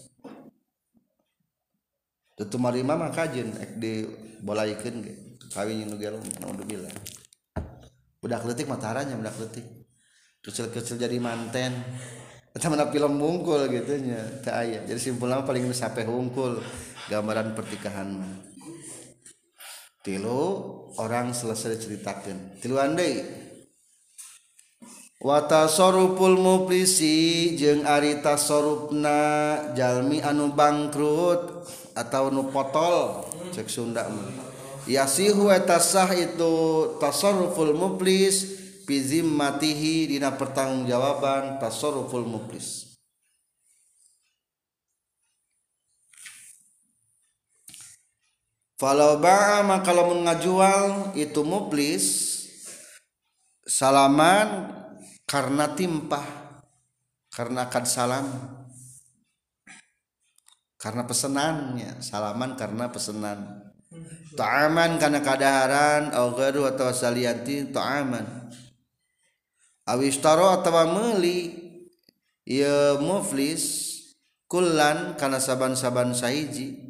Speaker 1: teu tumarima mah kajeun ek dibolaikeun ge kawin nu gelo naudzubillah budak leutik mah taranya budak leutik kecil-kecil jadi manten eta mah film hungkul gitu nya teu aya jadi simpulna paling nu sape hungkul gambaran pertikahan mah tilu orang selesai diceritakeun tiluan deui wa tasarruful muflisi jeung ari tasarrufna jalmi anu bangkrut atau nu potol cek Sunda mah yasihu eta sah itu tasarruful muflis fi zimmatihi dina pertanggungjawaban tasarruful muflis falau ba'a maka lamun ngajual itu muflis salaman karena timpah karena akad salam karena pesenannya salaman karena pesenan ta'aman karena kadaharan au ghairu atau salianti ta'aman awistaro atawa meuli ieu muflis kullan kana saban-saban sahiji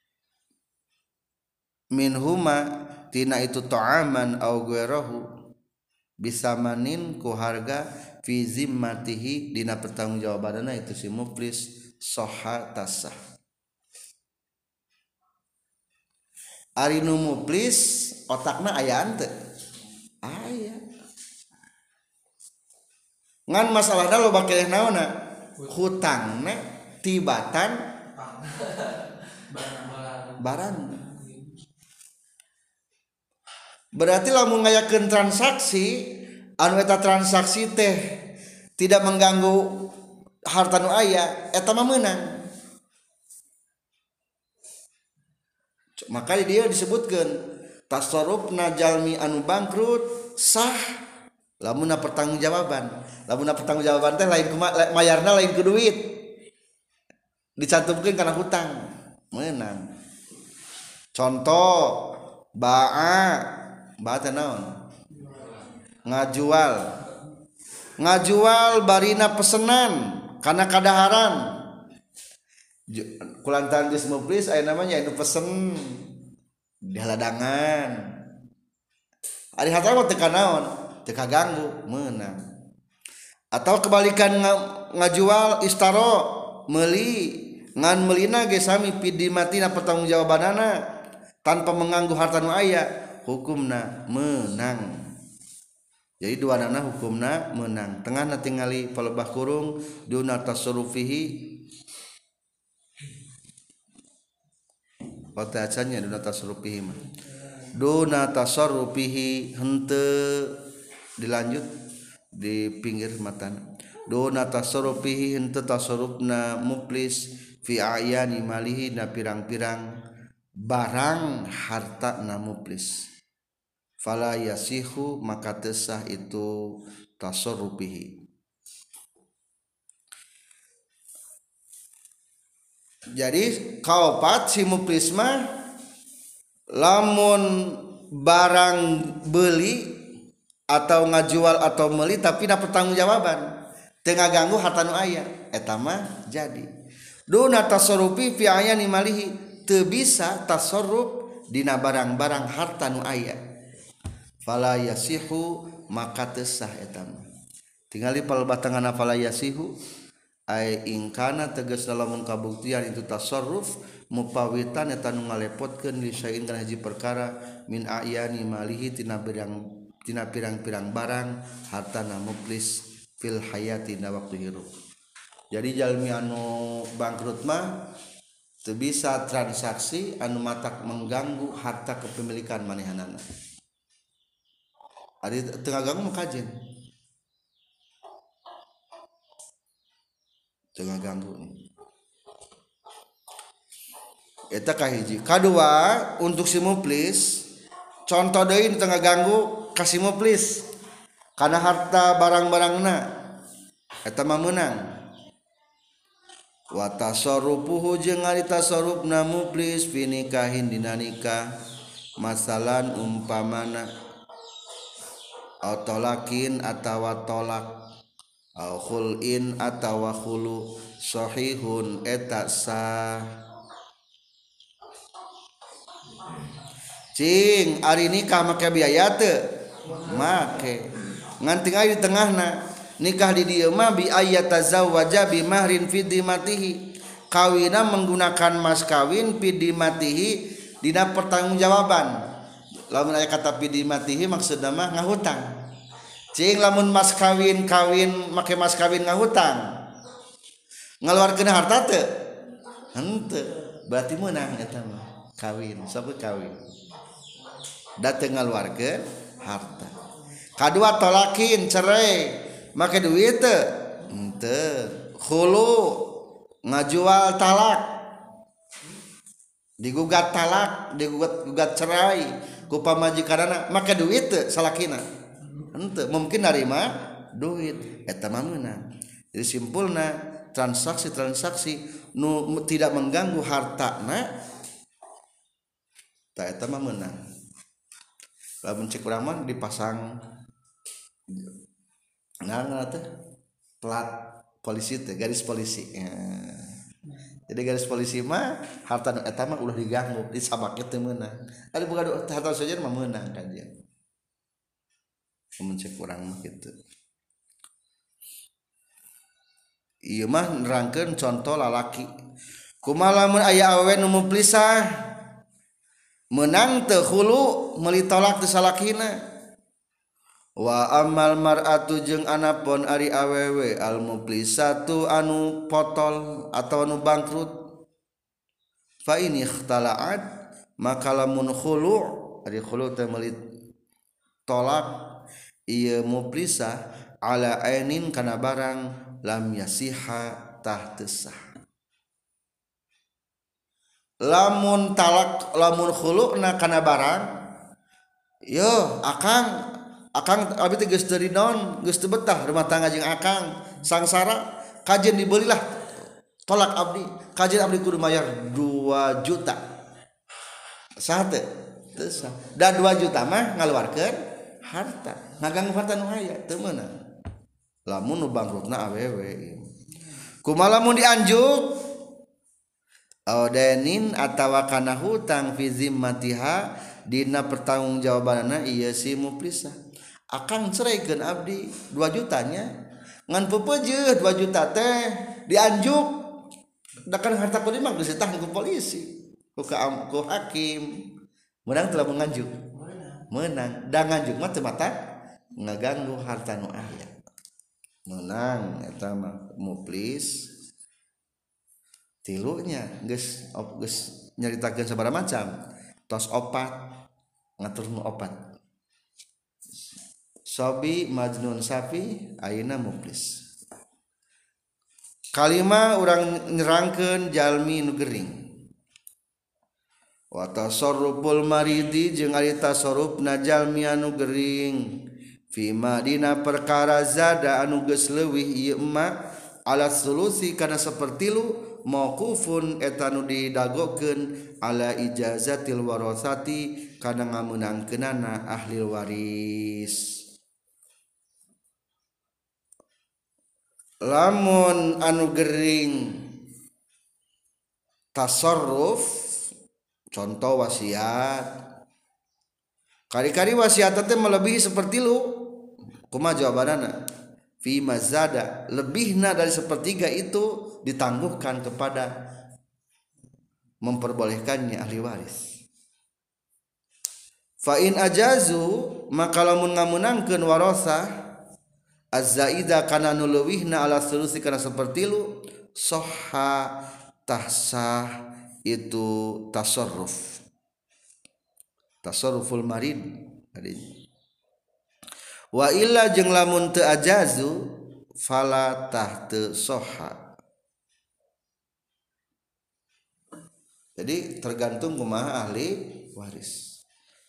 Speaker 1: minhuma tina itu ta'aman au ghairahu bisamanin ku harga fi zimmatihi dina pertanggungjawabanna itu si muflis sahha tasah ari nu muflis otakna aya henteu aya ngan masalahna loba keleh naonna hutangna tibatan barang berarti lamun ngayakeun transaksi anu eta transaksi teh tidak mengganggu harta nu aya eta mah meunang makanya dia disebutkan tasarrufna jalmi anu bangkrut sah lamunna pertanggungjawaban teh lain mayarna lain ku duit dicantumkeun kana hutang meunang contoh ba'a teh naon ngajual barina pesenan kana kadaharan kulantaran geus muflis aya namanya anu pesen di haladangan ari harta mah teu kanaon teu kaganggu meunang. Atau kebalikan ngajual istaro meuli ngan meulina ge sami pidimatina pertanggungjawabanana tanpa mengganggu harta nu aya hukumna menang. Jadi dua nana hukumna menang. Tengahna tingali palebah kurung duna tasarrufihi Patacannya duna tasarrufihi mah. Duna tasarrufihi henteu dilanjut di pinggir matana. Duna tasarrufihi henteu tasarrufna muflis fi ayani malihi na pirang-pirang barang harta na muflis. Fala yasihu maka tesah itu tasarrufihi. Jadi kaopat si muflis mah lamun barang beli atau ngajual atau meuli tapi dapat pertanggungjawaban teu ngaganggu harta nu aya eta mah jadi. Duna tasarrufi fi ayani malihi teu bisa tasarruf dina barang-barang harta nu aya. Fala yasihu maka teu sah eta mah. Tingali palebatangana fala yasihu ai ingkana tegas lamun kabuktian itu tasarruf mupawitan eta nu ngalepotkeun li sain kana hiji perkara min ayani malihi tina pirang-pirang barang hartana muflis fil hayati na waktu hirup. Jadi jalmi anu bangkrut mah teu bisa transaksi anu matak mengganggu harta kepemilikan manehanana. Ari teu ngaganggu mah kajen. Teu ngaganggu. Eta kahiji. Kadua untuk si muflis contoh deui teu ngaganggu ka si muflis kana harta barang-barangna eta mah meunang. Wa tasarrufuhu jeung ari tasarrufna muflis fi nikahin dina nikah masalan umpamana au tolakin atawa tolak au khulin atawa khulu sahihun eta sah. Cing ari nikah make biaya teu make ngan tinggal di tengahna nikah di dieu mah bi ayatazawwaja bi mahrin fi dimatihi kawina menggunakan mas kawin fi dimatihi dina pertanggungjawaban. Lamun aya kata fi dimatihi maksudna mah ngahutang. Cing lamun mas kawin make mas kawin ngahutang ngaluarkeun harta teu? Henteu. Berarti meunang eta mah kawin, sabut kawin. Da teu ngaluarkeun harta. Kadua tolakin cerai make duit teu? Henteu. Khulu ngajual talak. Digugat talak, digugat cerai ku pamajikanana make duit teu salakina? Henteu. Mungkin narima duit eta mah meunang. Jadi simpulna transaksi nu tidak mengganggu hartana ta eta mah meunang. Lamun cek urang mah dipasang ngaranna teh plat polisi teh garis polisi. Jadi garis polisi mah harta eta mah ulah diganggu disabake teu meunang. Ari boga harta saja mah meunang kan dia. Lamun cek urang mah kitu. Ieu mah nerangkeun contoh lalaki. Kumaha lamun aya awewe nu muflisah menang teu khulu meuli tolak teu salakina. Wa amal mar'atu jeung anapun ari awewe al muflisatu anu potol atau anu bangkrut fa in ikhtala'at maka lamun khulu ari khulu teh meuli tolak ieu muflisah ala ainin kana barang lam yasiha tah teu sah. Lamun talak lamun khulu'na kana barang yo akang abi teh geus teu dinaon geus teu betah rumah tangga jeung akang sangsara kajen dibelilah tolak abdi kajen abdi kudu mayar 2 juta sah teu teu sah da 2 juta mah ngaluarkeun harta ngaganggu harta nu aya teu meunang lamun nu bangkrutna awewe kumaha lamun dianjuk audainin atawa kana hutang fi zimmatiha dina pertanggungjawabanna ieu si muflisah akang ceraikeun abdi 2 jutanya ngan pepeujeuh 2 juta teh dianjuk dakan harta kulimah geus ditahan ku polisi ku hakim menang telah menganjuk menang da nganjuk mah teu mata ngaganggu harta nu aya menang eta mah muflis tilunya geus nyaritakeun sabaraha macam tos opat ngatur nu opat Sobi Majnun Safi ayeuna muflis kalima urang nyerangkeun jalmi nu gering wa tasarruful maridi jeung ari tasarrufna jalmi anu gering fi madina perkara zada anu geus leuwih ieu emak ala sulusi kana sapertilu mauqufun eta nu didagokeun ala ijazatil warasati kana ngameunangkeunana ahli waris lamun anu gering tasarruf contoh wasiat kari-kari wasiat teh melebihi sepertilu kumaha jawabanana fi mazada lebihna dari sepertiga itu ditangguhkan kepada memperbolehkannya ahli waris fa in ajazu maka lamun ngamunangkeun warasah az-zaida kana nu leuwihna ala sulusi kana sapertilu sahha tahsah itu tasarruful marid wa illa jeung lamun teu ajazu fala tahtu sahha jadi tergantung kumaha ahli waris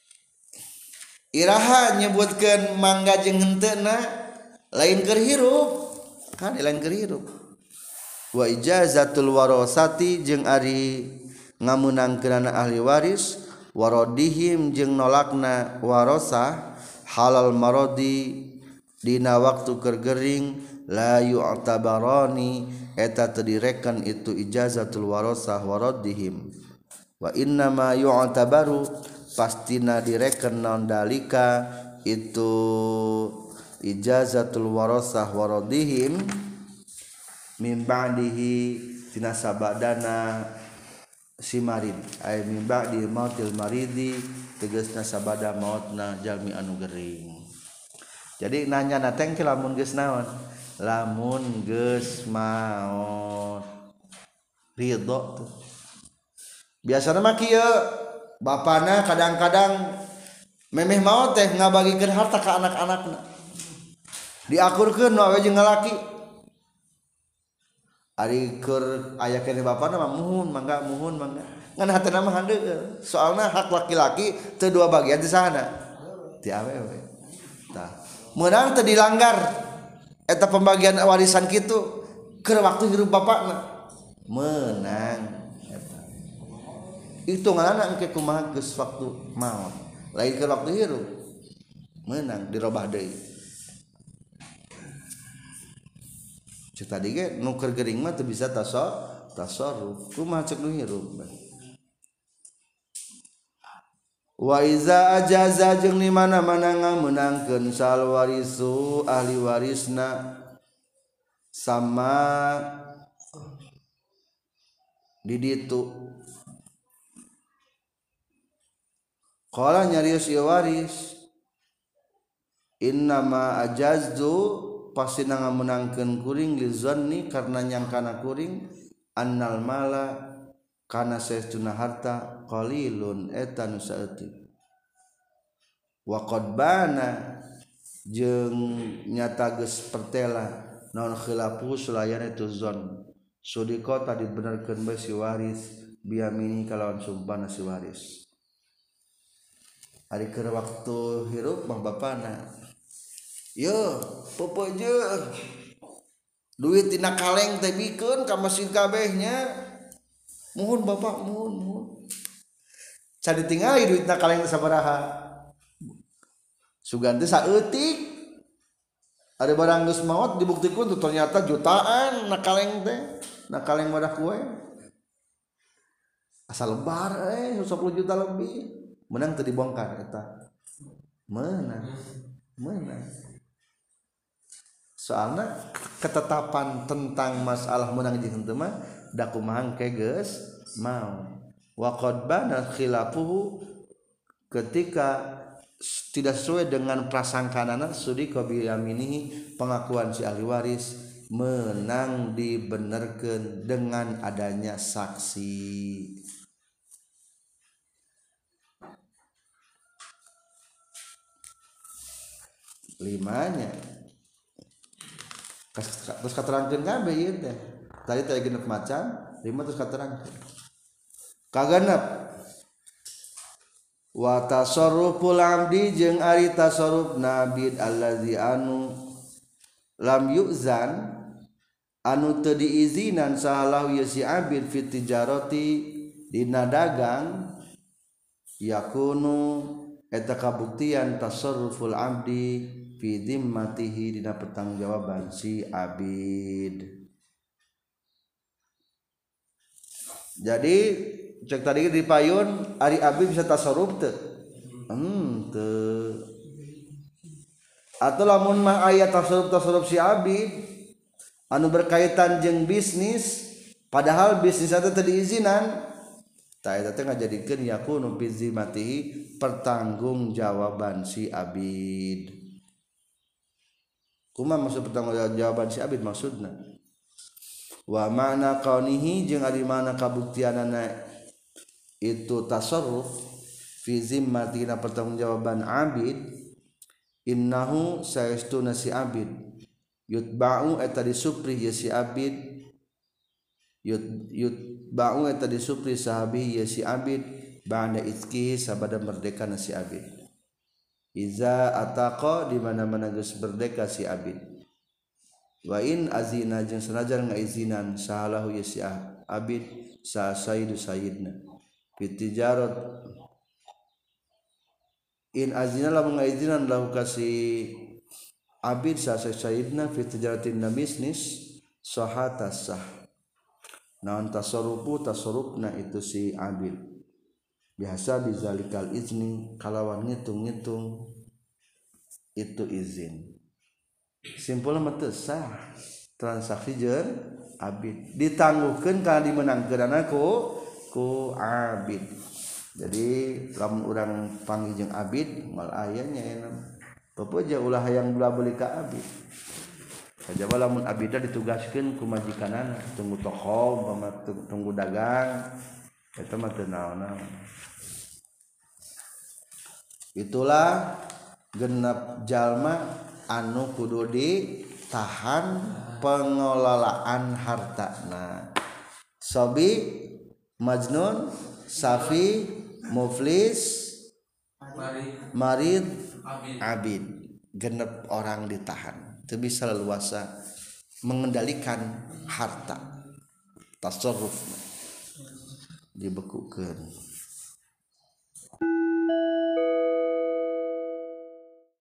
Speaker 1: iraha nyebutkeun mangga jeung henteuna lain keur hirup kan lain keur hirup wa ijazatul warasati jeung ari ngamunangkeunana ahli waris waradihim jeung nolakna warasah halal maradi dina waktu keur gering la yu'tabarani eta teu direkan itu ijazatul warasah waradihim wa inna ma yu'tabaru pastina direkan naon dalika itu ijazatul warasah waradihim min ba'dihi tina sabadana si marid ay min ba'di mautil maridi tegasna sabada mautna jalmi anu gering jadi nanya na teh lamun geus naon lamun geus maot ridho tuh biasana mah kieu bapana kadang-kadang memeh maot teh ngabagikeun harta ka anak-anakna diakurkeun wae jeung ngalaki ari keur aya keneh bapana mah muhun mangga ngan hatena mah handeuh soalna hak laki-laki teu dua bagian di sana ti awewe tah meunang teu dilanggar eta pembagian warisan kitu keur waktu hirup bapakna meunang eta hitunganna engke kumaha geus waktu maot lain keur waktu hirup meunang dirobah deui tadi ge nu keur gering mah teu bisa tasarruf kumaha ceuk nu hirup wa iza ajaza jeung di mana-mana ngameunangkeun sal warisu ahli warisna sama di ditu qala nyarios ieu waris innama ajaztu pasti ngamunangkeun kuring li zanni karena nyangkana kuring annal mala kana saestuna harta qalilun eta nu saeutik wa qad bana jeung nyata geus pertela naon khilafu sulayan itu zon sudiko tadi benerkeun bae si waris biamini kalawan sumpahna si waris ari keur waktu hirup mah bapana yo popojeuh duit tina kaleng teh bikeun ka mesin kabehnya muhun bapak muhun can ditingali duit tina kaleng teh sabaraha sugan teh saeutik ada barang geus maot dibuktikeun tuh ternyata jutaan na kaleng teh na kaleng wadah kue asal lebar 10 juta lebih menang teu dibongkar eta menang menang. Soalnya ketetapan tentang masalah menang jeung henteu mah da kumaha ke geus mau. Wa qad bana khilafuhu ketika tidak sesuai dengan prasangkanana sudika bi yaminihi pengakuan si ahli waris menang dibenerkeun dengan adanya saksi. Limanya terus katerangkeun kabeh ieu teh. Tadi teh genep macan, 5 terus katerangkeun. Kagenep wa tasarruful abdi jeung ari tasarruf nabid allazi anu lam yu'zan anu teu diizinan sahalahu ya si abid fit tijarati dina dagang yakunu eta kabuktian tasarruful abdi fi dhimmatihi dina pertanggungjawaban si abid. Jadi cek tadi di payun ari abid bisa tasarruf teu? Teu. Atau lamun mah aya tasarruf si abid anu berkaitan jeung bisnis padahal bisnis eta teu diizinan ta eta teh ngajadikeun yakunu fi dhimmatihi pertanggungjawaban si abid. Kumaha maksud pertanggungjawaban si abid maksudna? Wa ma'na qaunihi jeung ari mana kabuktianana itu tasarruf fi zimmatina pertanggungjawaban abid innahu saestuna si abid yutba'u eta disupri ya si abid yutba'u eta disupri sahabi ya si abid ba'da izkihi sabada merdeka si abid iza ataqa di mana-mana geus merdeka si abid wa in azina jeung sanajan ngaizinan sahalahu ya si abid sa sayyidu sayyidna fitijarat in azina lamun ngaizinan lahu kasih abid sa sayyidna fitijaratin na bisnis sahatas sah naon tasarrufna itu si abid biasa bizalikal izni kalawan ngitung-ngitung itu izin simpulna mah teu sah transaksi jeung abid ditangguhkeun kana dimenangkeunana ku abid. Jadi lamun urang panggih jeung abid mal aya nyaena pepeja ulah hayang bela beli ka abid kajaba lamun abidna ditugaskeun ku majikanana tunggu toko umpama tunggu dagang eta mah teu naon-naon. Itulah genep jalma anu kudu ditahan pengelolaan hartana. Sobi, majnun, safi, muflis, marid, abid. Genep orang ditahan. Teu bisa leluasa mengendalikan harta. Tasarruf dibekukeun.